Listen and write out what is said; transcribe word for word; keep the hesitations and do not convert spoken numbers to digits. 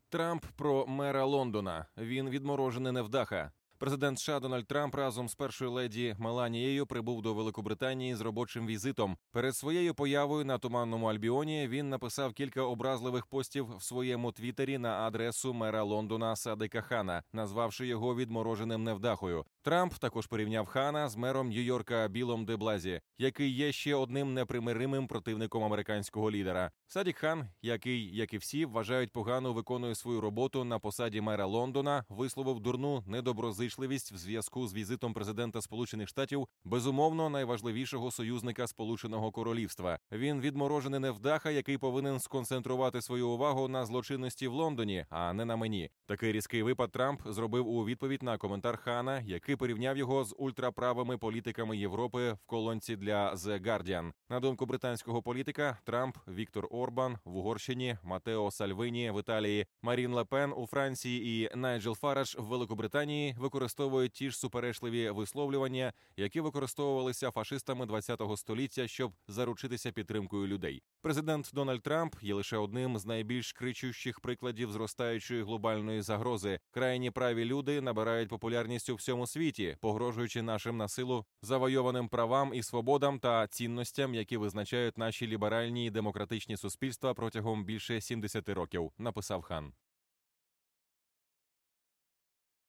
Трамп про мера Лондона. Він відморожений невдаха. Президент США Дональд Трамп разом з першою леді Меланією прибув до Великобританії з робочим візитом. Перед своєю появою на Туманному Альбіоні він написав кілька образливих постів в своєму твіттері на адресу мера Лондона Садика Хана, назвавши його відмороженим невдахою. Трамп також порівняв Хана з мером Нью-Йорка Білом де Блазі, який є ще одним непримиримим противником американського лідера. Садік Хан, який, як і всі, вважають погано виконує свою роботу на посаді мера Лондона, висловив дурну недоброзичливість в зв'язку з візитом президента Сполучених Штатів, безумовно, найважливішого союзника Сполученого Королівства. Він відморожений невдаха, який повинен сконцентрувати свою увагу на злочинності в Лондоні, а не на мені. Такий різкий випад Трамп зробив у відповідь на коментар Хана, який порівняв його з ультраправими політиками Європи в колонці для The Guardian. На думку британського політика, Трамп, Віктор Орбан в Угорщині, Матео Сальвині в Італії, Марін Ле Пен у Франції і Найджел Фараш в Великобританії використовують ті ж суперечливі висловлювання, які використовувалися фашистами ХХ століття, щоб заручитися підтримкою людей. Президент Дональд Трамп є лише одним з найбільш кричущих прикладів зростаючої глобальної загрози. Крайні праві люди набирають популярність у всьому світі, погрожуючи нашим на силу завойованим правам і свободам та цінностям, які визначають наші ліберальні і демократичні суспільства протягом більше сімдесяти років, написав Хан.